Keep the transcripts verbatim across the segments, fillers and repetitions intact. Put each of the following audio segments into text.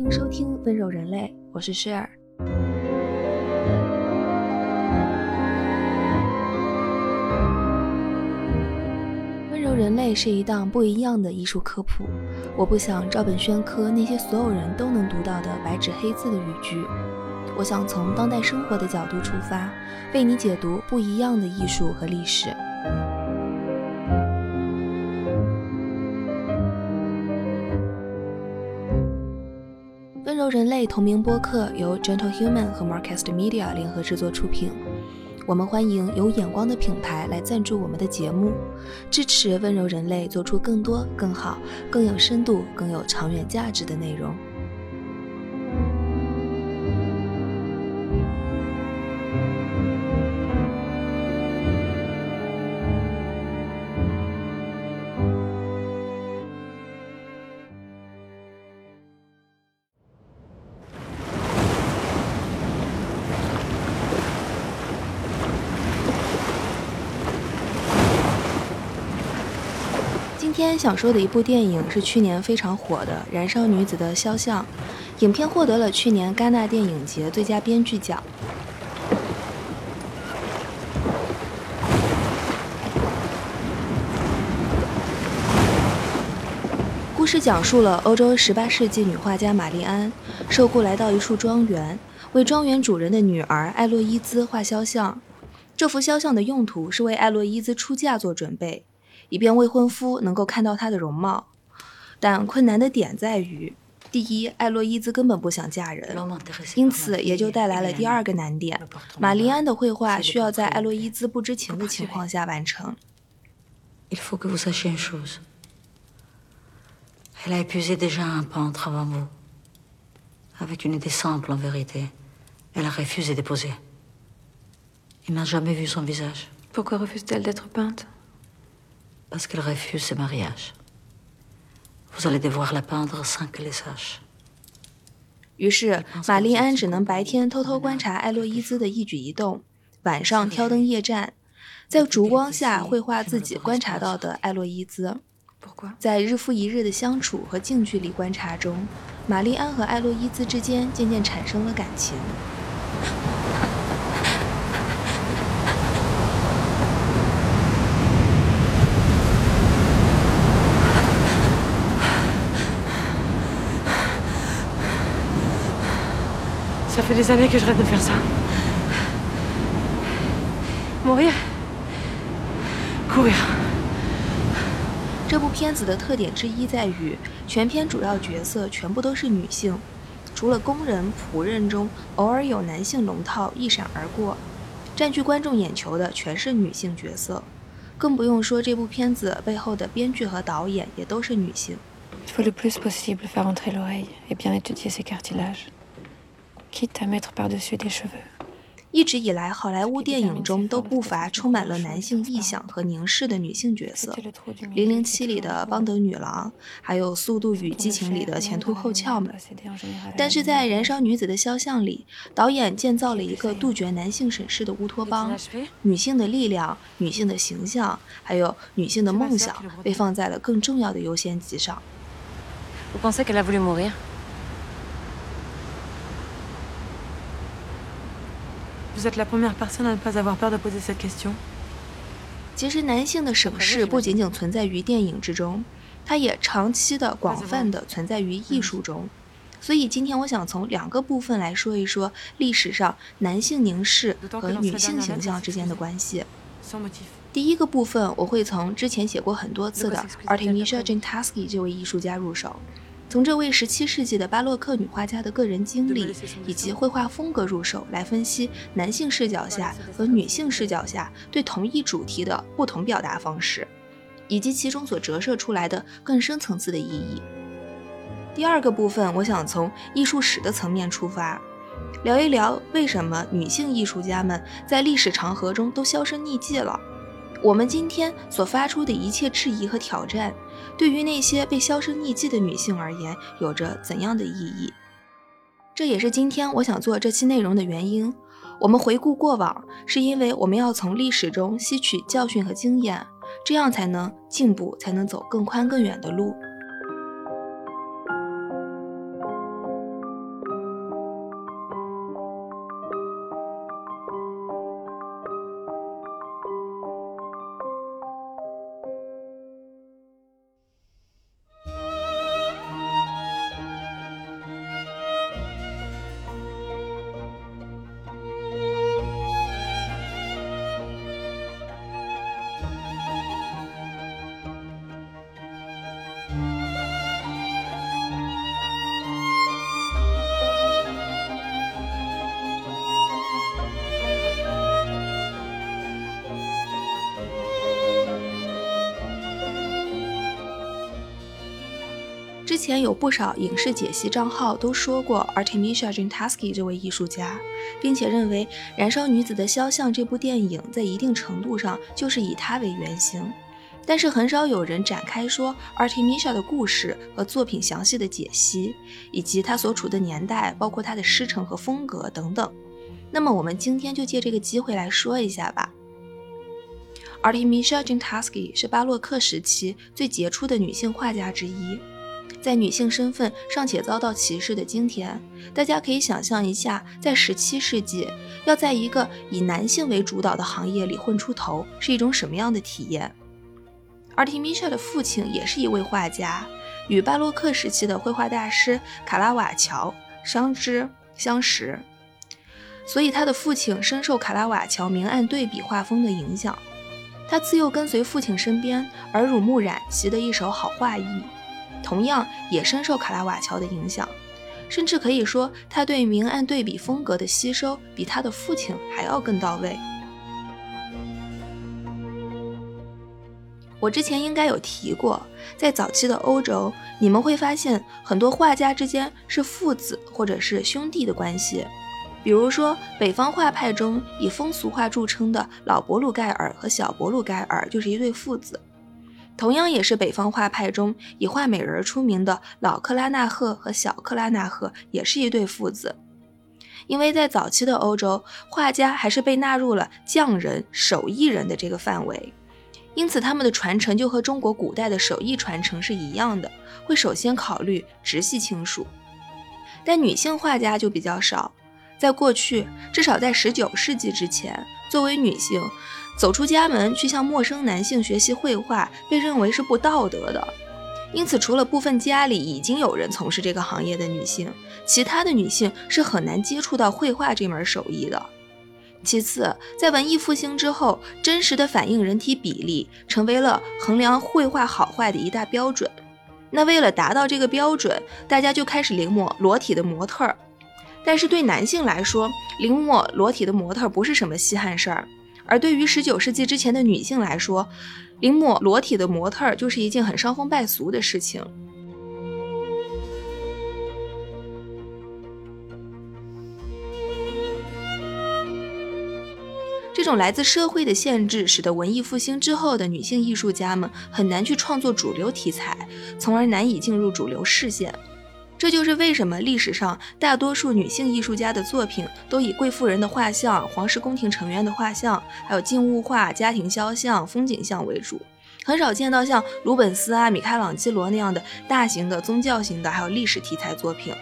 迎收听《温柔人类》，我是 Share。温柔人类是一档不一样的艺术科普，我不想照本宣科那些所有人都能读到的白纸黑字的语句，我想从当代生活的角度出发，为你解读不一样的艺术和历史。温柔人类同名播客由 Gentle Human 和 Marcast Media 联合制作出品。我们欢迎有眼光的品牌来赞助我们的节目，支持温柔人类做出更多、更好、更有深度、更有长远价值的内容。今天想说的一部电影是去年非常火的《燃烧女子的肖像》，影片获得了去年戛纳电影节最佳编剧奖。故事讲述了欧洲十八世纪女画家玛丽安受雇来到一处庄园，为庄园主人的女儿艾洛伊兹画肖像。这幅肖像的用途是为艾洛伊兹出嫁做准备，以便未婚夫能够看到她的容貌。但困难的点在于，第一，艾洛伊兹根本不想嫁人，因此也就带来了第二个难点，玛丽安的绘画需要在艾洛伊兹不知情的情况下完成。 Il faut que vous sachiez une chose. Elle a épuisé déjà un peintre avant vous. Avec une idée simple en vérité. Elle a refusé d'épouser. Il n'a jamais vu son visage. Pourquoi refuse-t-elle d'être peinte? Parce qu'elle refuse ce mariage. Vous allez devoir la peindre sans qu'elle le sache. 于是玛丽安只能白天偷偷观察艾洛伊兹的一举一动，晚上挑灯夜战，在烛光下绘画自己观察到的艾洛伊兹。在日复一日的相处和近距离观察中，玛丽安和艾洛伊兹之间渐渐产生了感情。 Ça fait des années que je rêve de faire ça. Mourir. Courir. 这部片子的特点之一在于，全片主要角色全部都是女性，除了工人、仆人中偶尔有男性龙套一闪而过，占据观众眼球的全是女性角色。更不用说这部片子背后的编剧和导演也都是女性。 Il faut le plus possible faire entrer l'oreille et bien étudier ses cartilages, quitte à mettre par-dessus des cheveux. 一直以来，好莱坞电影中都不乏充满了男性臆想和凝视的女性角色，《零零七》里的邦德女郎，还有《速度与激情》里的前凸后翘们。但是在《燃烧女子的肖像》里，导演建造了一个杜绝男性审视的乌托邦，女性的力量、女性的形象，还有女性的梦想被放在了更重要的优先级上。 Vous pensez qu'elle a voulu mourir? Vous êtes la première personne à ne pas avoir peur de poser cette question. 其实男性的审视不仅仅存在于电影之中，它也长期的、广泛的存在于艺术中。所以今天我想从两个部分来说一说历史上男性凝视和女性形象之间的关系。第一个部分我会从之前写过很多次的 Artemisia Gentileschi 这位艺术家入手，从这位十七世纪的巴洛克女画家的个人经历以及绘画风格入手，来分析男性视角下和女性视角下对同一主题的不同表达方式，以及其中所折射出来的更深层次的意义。第二个部分，我想从艺术史的层面出发，聊一聊为什么女性艺术家们在历史长河中都销声匿迹了。我们今天所发出的一切质疑和挑战，对于那些被销声匿迹的女性而言，有着怎样的意义？这也是今天我想做这期内容的原因。我们回顾过往，是因为我们要从历史中吸取教训和经验，这样才能进步，才能走更宽更远的路。 之前有不少影视解析账号都说过 Artemisia Gentileschi 这位艺术家，并且认为《燃烧女子的肖像》这部电影在一定程度上就是以她为原型，但是很少有人展开说 Artemisia 的故事和作品详细的解析，以及她所处的年代，包括她的师承和风格等等。那么我们今天就借这个机会来说一下吧。Artemisia Gentileschi 是巴洛克时期最杰出的女性画家之一。在女性身份尚且遭到歧视的今天，大家可以想象一下，在十七世纪要在一个以男性为主导的行业里混出头是一种什么样的体验。Artemisia 的父亲也是一位画家，与巴洛克时期的绘画大师卡拉瓦乔相知相识，所以他的父亲深受卡拉瓦乔明暗对比画风的影响。他自幼跟随父亲身边，耳濡目染，习得一手好画艺，同样也深受卡拉瓦乔的影响，甚至可以说他对明暗对比风格的吸收比他的父亲还要更到位。我之前应该有提过，在早期的欧洲，你们会发现很多画家之间是父子或者是兄弟的关系。比如说北方画派中以风俗画著称的老伯鲁盖尔和小伯鲁盖尔就是一对父子，同样也是北方画派中以画美人出名的老克拉纳赫和小克拉纳赫也是一对父子。因为在早期的欧洲，画家还是被纳入了匠人、手艺人的这个范围，因此他们的传承就和中国古代的手艺传承是一样的，会首先考虑直系亲属。但女性画家就比较少，在过去，至少在十九世纪之前，作为女性走出家门去向陌生男性学习绘画被认为是不道德的，因此除了部分家里已经有人从事这个行业的女性，其他的女性是很难接触到绘画这门手艺的。其次，在文艺复兴之后，真实的反映人体比例成为了衡量绘画好坏的一大标准。那为了达到这个标准，大家就开始临摹裸体的模特儿。但是对男性来说，临摹裸体的模特不是什么稀罕事儿，而对于十九世纪之前的女性来说，临摹裸体的模特就是一件很伤风败俗的事情。这种来自社会的限制，使得文艺复兴之后的女性艺术家们很难去创作主流题材，从而难以进入主流视线。这就是为什么历史上大多数女性艺术家的作品都以贵妇人的画像、皇室宫廷成员的画像，还有静物画、家庭肖像、风景像为主，很少见到像鲁本斯啊、米开朗基罗那样的大型的宗教型的还有历史题材作品。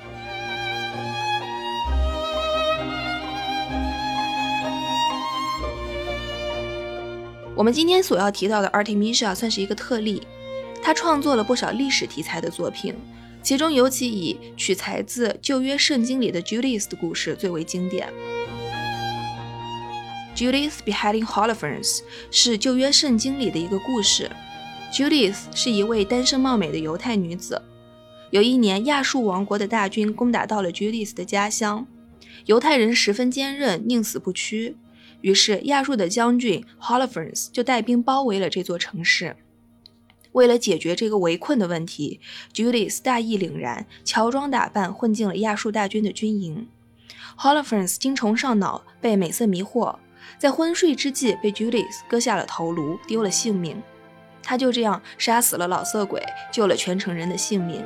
我们今天所要提到的 Artemisia 算是一个特例，她创作了不少历史题材的作品，其中尤其以取材自旧约圣经里的 Judith 的故事最为经典。Judith beheading Holofernes 是旧约圣经里的一个故事。Judith 是一位单身貌美的犹太女子。有一年，亚述王国的大军攻打到了 Judith 的家乡，犹太人十分坚韧，宁死不屈。于是亚述的将军 Holofernes 就带兵包围了这座城市。为了解决这个围困的问题， Judith 大义凛然，乔装打扮混进了亚述大军的军营。 Holofernes 精虫上脑，被美色迷惑，在昏睡之际被 Judith 割下了头颅，丢了性命。他就这样杀死了老色鬼，救了全城人的性命。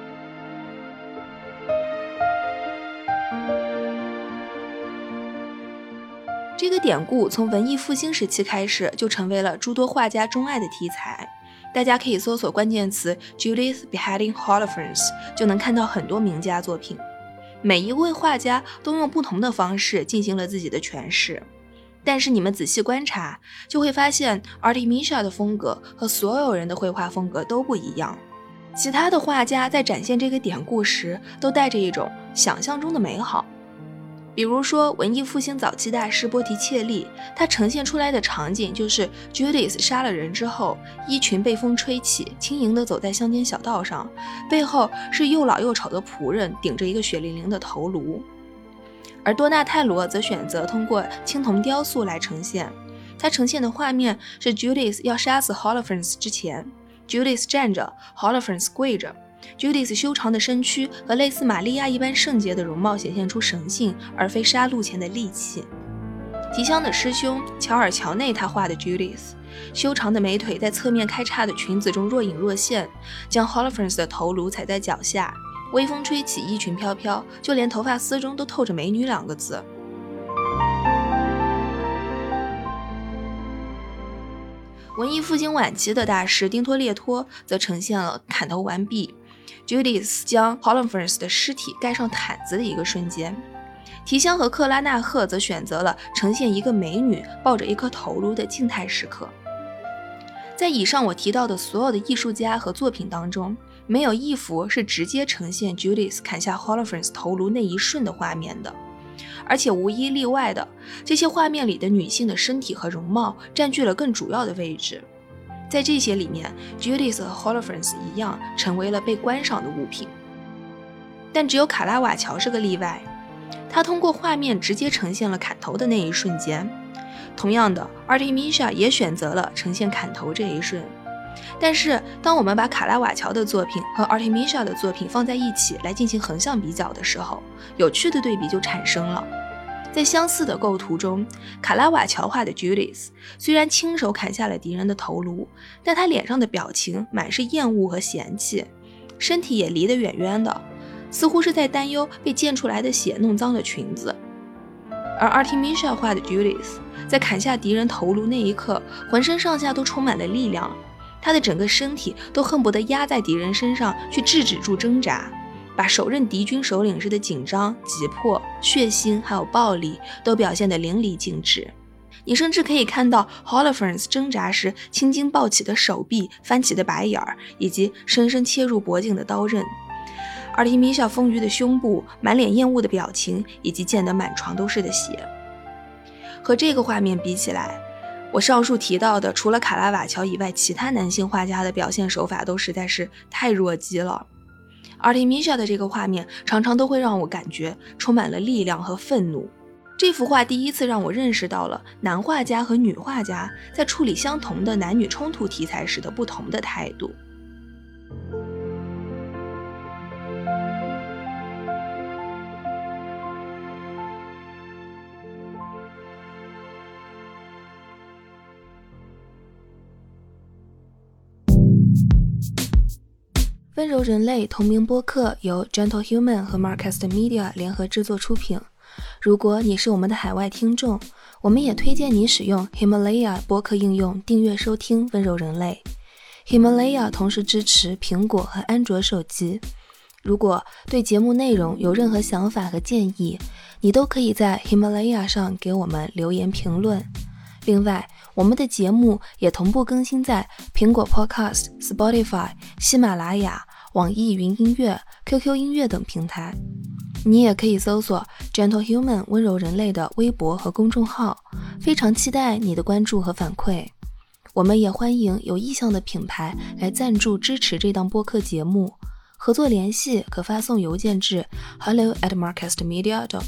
这个典故从文艺复兴时期开始就成为了诸多画家钟爱的题材，大家可以搜索关键词 Judith beheading Holofernes 就能看到很多名家作品。每一位画家都用不同的方式进行了自己的诠释，但是你们仔细观察就会发现 Artemisia 的风格和所有人的绘画风格都不一样。其他的画家在展现这个典故时都带着一种想象中的美好，比如说文艺复兴早期大师波提切利，他呈现出来的场景就是 Judith 杀了人之后，衣裙被风吹起，轻盈地走在乡间小道上，背后是又老又丑的仆人顶着一个血淋淋的头颅。而多纳泰罗则选择通过青铜雕塑来呈现，他呈现的画面是 Judith 要杀死 Holofernes 之前， Judith 站着， Holofernes 跪着， Judith 修长的身躯和类似玛利亚一般圣洁的容貌显现出神性，而非杀戮前的戾气。提香的师兄乔尔·乔内他画的 Judith， 修长的美腿在侧面开叉的裙子中若隐若现，将 Holofernes 的头颅踩在脚下，微风吹起，衣裙飘飘，就连头发丝中都透着美女两个字。文艺复兴晚期的大师丁托列托则呈现了砍头完毕， Judith 将 Holofernes 的尸体盖上毯子的一个瞬间。提香和克拉纳赫则选择了呈现一个美女抱着一颗头颅的静态时刻。在以上我提到的所有的艺术家和作品当中，没有一幅是直接呈现 Judith 砍下 Holofernes 头颅那一瞬的画面的，而且无一例外的，这些画面里的女性的身体和容貌占据了更主要的位置。在这些里面， Judith 和 Holofernes 一样成为了被观赏的物品。但只有卡拉瓦乔是个例外，他通过画面直接呈现了砍头的那一瞬间。同样的， Artemisia 也选择了呈现砍头这一瞬。但是当我们把卡拉瓦乔的作品和 Artemisia 的作品放在一起来进行横向比较的时候，有趣的对比就产生了。在相似的构图中，卡拉瓦乔画的 Judith 虽然亲手砍下了敌人的头颅，但他脸上的表情满是厌恶和嫌弃，身体也离得远远的，似乎是在担忧被溅出来的血弄脏了裙子。而 Artemisia 画的 Judith 在砍下敌人头颅那一刻，浑身上下都充满了力量，他的整个身体都恨不得压在敌人身上去制止住挣扎，把首任敌军首领时的紧张、急迫、血腥还有暴力都表现得淋漓尽致。你甚至可以看到 Holofernes 挣扎时青筋暴起的手臂、翻起的白眼儿，以及深深切入脖颈的刀刃。Artemisia 丰腴的胸部、满脸厌恶的表情，以及溅得满床都是的血。和这个画面比起来，我上述提到的除了卡拉瓦乔以外，其他男性画家的表现手法都实在是太弱鸡了。Artemisia 的这个画面常常都会让我感觉充满了力量和愤怒。这幅画第一次让我认识到了男画家和女画家在处理相同的男女冲突题材时的不同的态度。温柔人类同名播客由 Gentle Human 和 Marcast Media 联合制作出品。如果你是我们的海外听众，我们也推荐你使用 Himalaya 播客应用订阅收听温柔人类。Himalaya 同时支持苹果和安卓手机。如果对节目内容有任何想法和建议，你都可以在 Himalaya 上给我们留言评论。另外，我们的节目也同步更新在苹果 Podcast、Spotify、喜马拉雅、网易云音乐、Q Q 音乐等平台。你也可以搜索 Gentle Human 温柔人类的微博和公众号，非常期待你的关注和反馈。我们也欢迎有意向的品牌来赞助支持这档播客节目，合作联系可发送邮件至 hello at marcastmedia dot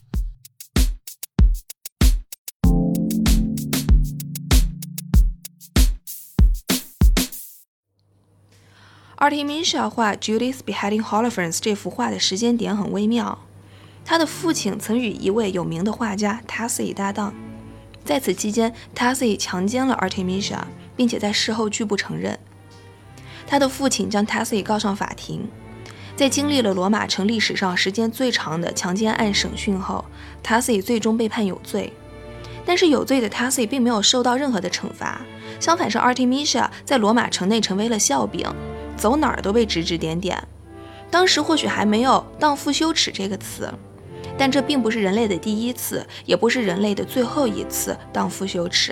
com。Artemisia 画 Judith beheading Holofernes 这幅画的时间点很微妙。他的父亲曾与一位有名的画家 Tassy 搭档，在此期间 Tassy 强奸了 Artemisia， 并且在事后拒不承认。他的父亲将 Tassy 告上法庭。在经历了罗马城历史上时间最长的强奸案审讯后， Tassy 最终被判有罪。但是有罪的 Tassy 并没有受到任何的惩罚，相反是 Artemisia 在罗马城内成为了笑柄，走哪儿都被指指点点。当时或许还没有荡妇羞耻这个词，但这并不是人类的第一次，也不是人类的最后一次荡妇羞耻。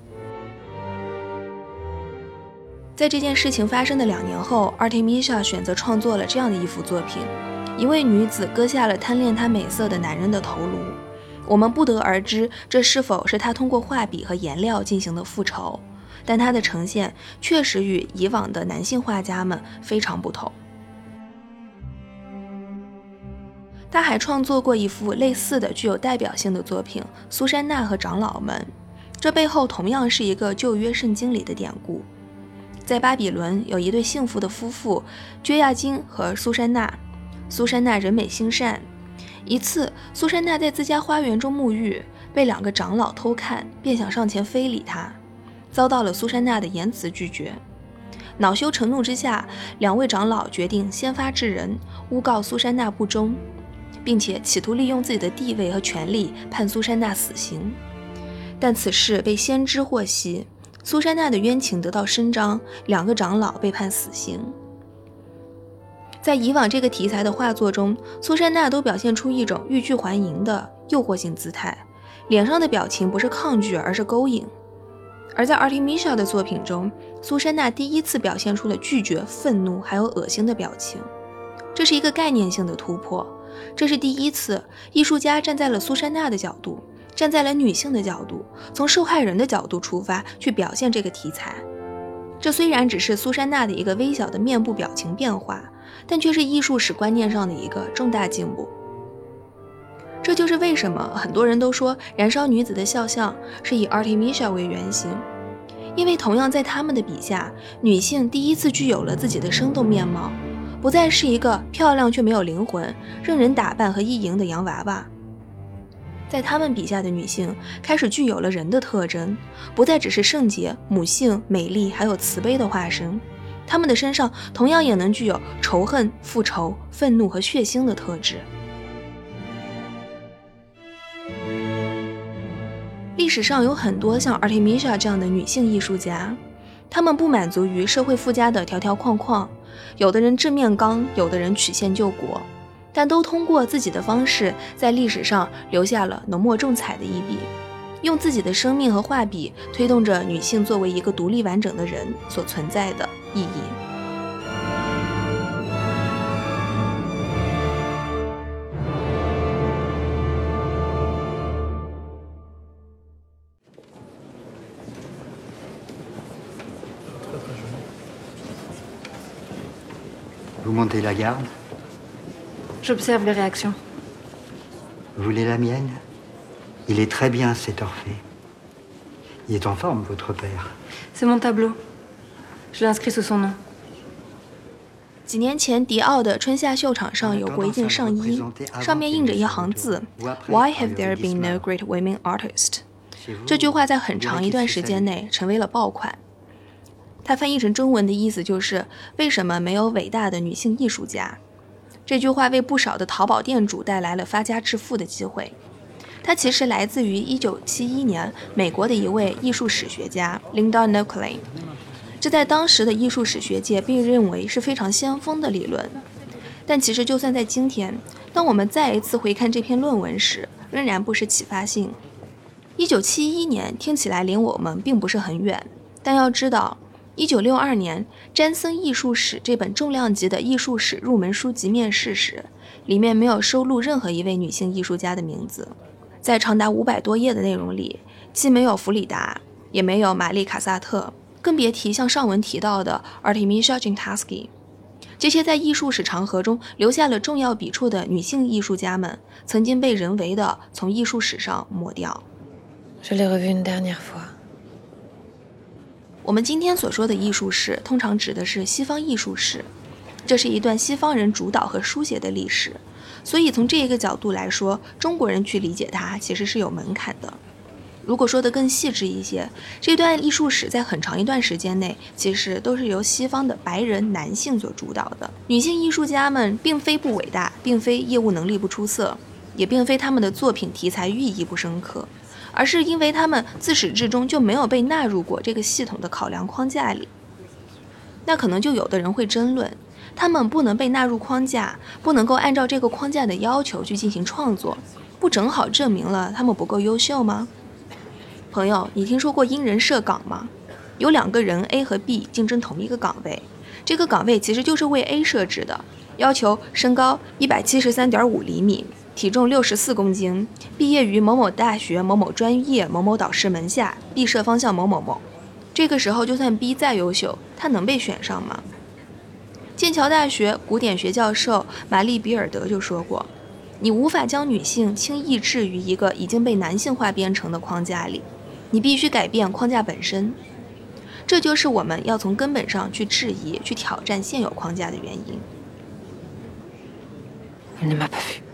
在这件事情发生的两年后， Artemisia 选择创作了这样的一幅作品，一位女子割下了贪恋她美色的男人的头颅。我们不得而知这是否是她通过画笔和颜料进行的复仇，但她的呈现确实与以往的男性画家们非常不同。他还创作过一幅类似的具有代表性的作品《苏珊娜和长老们》，这背后同样是一个旧约圣经里的典故。 在巴比伦有一对幸福的夫妇，约亚金和苏珊娜。苏珊娜人美心善。一次，苏珊娜在自家花园中沐浴，被两个长老偷看，便想上前非礼她，遭到了苏珊娜的严词拒绝。恼羞成怒之下，两位长老决定先发制人，诬告苏珊娜不忠，并且企图利用自己的地位和权力判苏珊娜死刑。但此事被先知获悉，苏珊娜的冤情得到伸张，两个长老被判死刑。在以往这个题材的画作中，苏珊娜都表现出一种欲拒还迎的诱惑性姿态，脸上的表情不是抗拒，而是勾引。而在 Artemisia 的作品中，苏珊娜第一次表现出了拒绝、愤怒还有恶心的表情，这是一个概念性的突破。这是第一次艺术家站在了苏珊娜的角度，站在了女性的角度，从受害人的角度出发去表现这个题材。这虽然只是苏珊娜的一个微小的面部表情变化，但却是艺术史观念上的一个重大进步。这就是为什么很多人都说燃烧女子的肖像是以 Artemisia 为原型，因为同样在他们的笔下，女性第一次具有了自己的生动面貌，不再是一个漂亮却没有灵魂、任人打扮和意淫的洋娃娃。在他们笔下的女性开始具有了人的特征，不再只是圣洁、母性、美丽还有慈悲的化身，她们的身上同样也能具有仇恨、复仇、愤怒和血腥的特质。历史上有很多像 Artemisia 这样的女性艺术家，她们不满足于社会附加的条条框框，有的人正面刚，有的人曲线救国，但都通过自己的方式在历史上留下了浓墨重彩的一笔，用自己的生命和画笔推动着女性作为一个独立完整的人所存在的意义。 Vous montez la garde? J'observe les réactions. Vous voulez la mienne? Il est très bien, cet Orphée. Il est en forme, votre père. C'est mon tableau. Je l'ai inscrit sous son nom. 几年前，迪奥的春夏秀场上有过一件上衣，上面印着一行字 Why have there been no great women artists？ 这句话在很长一段时间内成为了爆款。它翻译成中文的意思就是为什么没有伟大的女性艺术家。这句话为不少的淘宝店主带来了发家致富的机会。它其实来自于一九七一年美国的一位艺术史学家 Linda Nokley， 这在当时的艺术史学界被认为是非常先锋的理论。但其实就算在今天，当我们再一次回看这篇论文时，仍然不失启发性。一九七一年听起来离我们并不是很远，但要知道一九六二年詹森艺术史这本重量级的艺术史入门书籍面世时，里面没有收录任何一位女性艺术家的名字。在长达五百多页的内容里，既没有弗里达，也没有玛丽卡萨特，更别提像上文提到的 Artemisia Gentileschi。 这些在艺术史长河中留下了重要笔触的女性艺术家们，曾经被人为的从艺术史上抹掉。 Je l'ai revu une dernière fois. 我们今天所说的艺术史，通常指的是西方艺术史，这是一段西方人主导和书写的历史，所以从这一个角度来说，中国人去理解它其实是有门槛的。如果说得更细致一些，这段艺术史在很长一段时间内，其实都是由西方的白人男性所主导的。女性艺术家们并非不伟大，并非业务能力不出色，也并非他们的作品题材寓意不深刻，而是因为他们自始至终就没有被纳入过这个系统的考量框架里。那可能就有的人会争论，他们不能被纳入框架，不能够按照这个框架的要求去进行创作，不正好证明了他们不够优秀吗？朋友，你听说过因人设岗吗？有两个人 A 和 B 竞争同一个岗位，这个岗位其实就是为 A 设置的，要求身高 一百七十三点五厘米，体重六十四公斤，毕业于某某大学某某专业某某导师门下，毕设方向某某某。这个时候就算 B 再优秀，他能被选上吗？剑桥大学古典学教授玛丽比尔德就说过，你无法将女性轻易置于一个已经被男性化编程的框架里，你必须改变框架本身。 这就是我们要从根本上去质疑、去挑战现有框架的原因。 Elle ne m'a pas vue.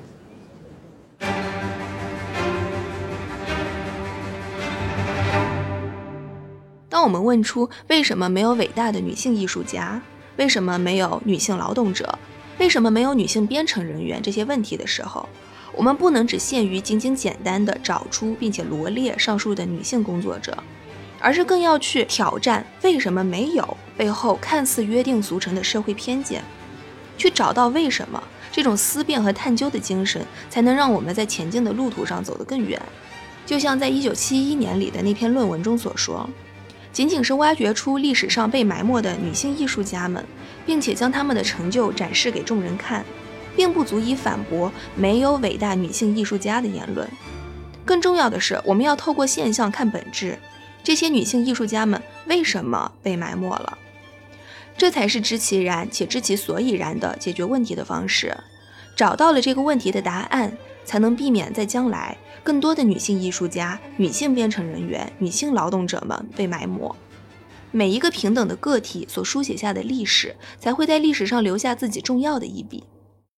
当我们问出为什么没有伟大的女性艺术家，为什么没有女性劳动者，为什么没有女性编程人员这些问题的时候，我们不能只限于仅仅简单的找出并且罗列上述的女性工作者，而是更要去挑战为什么没有背后看似约定俗成的社会偏见，去找到为什么，这种思辨和探究的精神才能让我们在前进的路途上走得更远。就像在一九七一年里的那篇论文中所说，仅仅是挖掘出历史上被埋没的女性艺术家们，并且将她们的成就展示给众人看，并不足以反驳没有伟大女性艺术家的言论。更重要的是，我们要透过现象看本质，这些女性艺术家们为什么被埋没了？这才是知其然且知其所以然的解决问题的方式。找到了这个问题的答案，才能避免在将来更多的女性艺术家、女性编程人员、女性劳动者们被埋没。每一个平等的个体所书写下的历史，才会在历史上留下自己重要的一笔。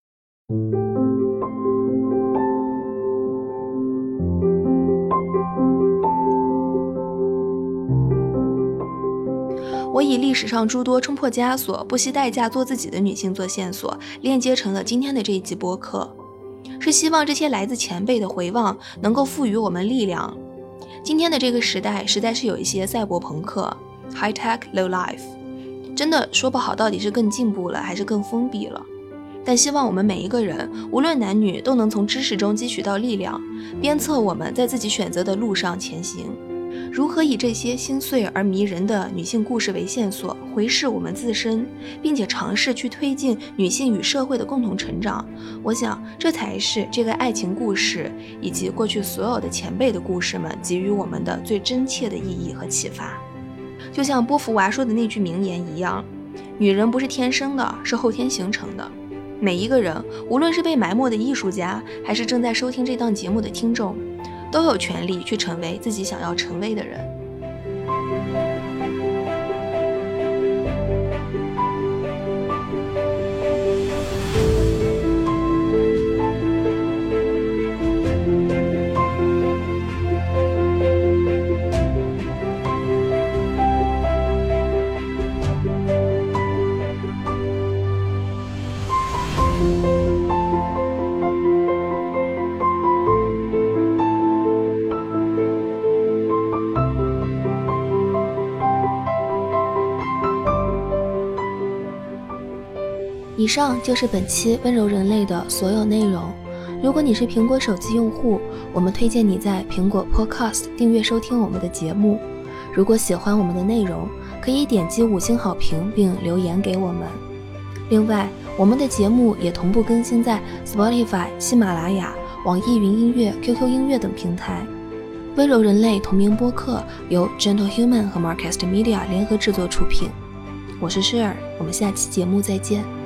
我以历史上诸多冲破枷锁、不惜代价做自己的女性做线索，链接成了今天的这一集播客，是希望这些来自前辈的回望能够赋予我们力量。今天的这个时代实在是有一些赛博朋克 high tech low life， 真的说不好到底是更进步了还是更封闭了。但希望我们每一个人，无论男女，都能从知识中汲取到力量，鞭策我们在自己选择的路上前行。如何以这些心碎而迷人的女性故事为线索，回视我们自身，并且尝试去推进女性与社会的共同成长，我想这才是这个爱情故事以及过去所有的前辈的故事们给予我们的最真切的意义和启发。就像波伏娃说的那句名言一样，女人不是天生的，是后天形成的。每一个人，无论是被埋没的艺术家，还是正在收听这档节目的听众，都有权利去成为自己想要成为的人。以上就是本期温柔人类的所有内容。如果你是苹果手机用户，我们推荐你在苹果 Podcast 订阅收听我们的节目。如果喜欢我们的内容，可以点击五星好评并留言给我们。另外，我们的节目也同步更新在 Spotify、喜马拉雅、网易云音乐、Q Q 音乐等平台。温柔人类同名播客由 Gentle Human 和 Marcast Media 联合制作出品。我是诗尔，我们下期节目再见。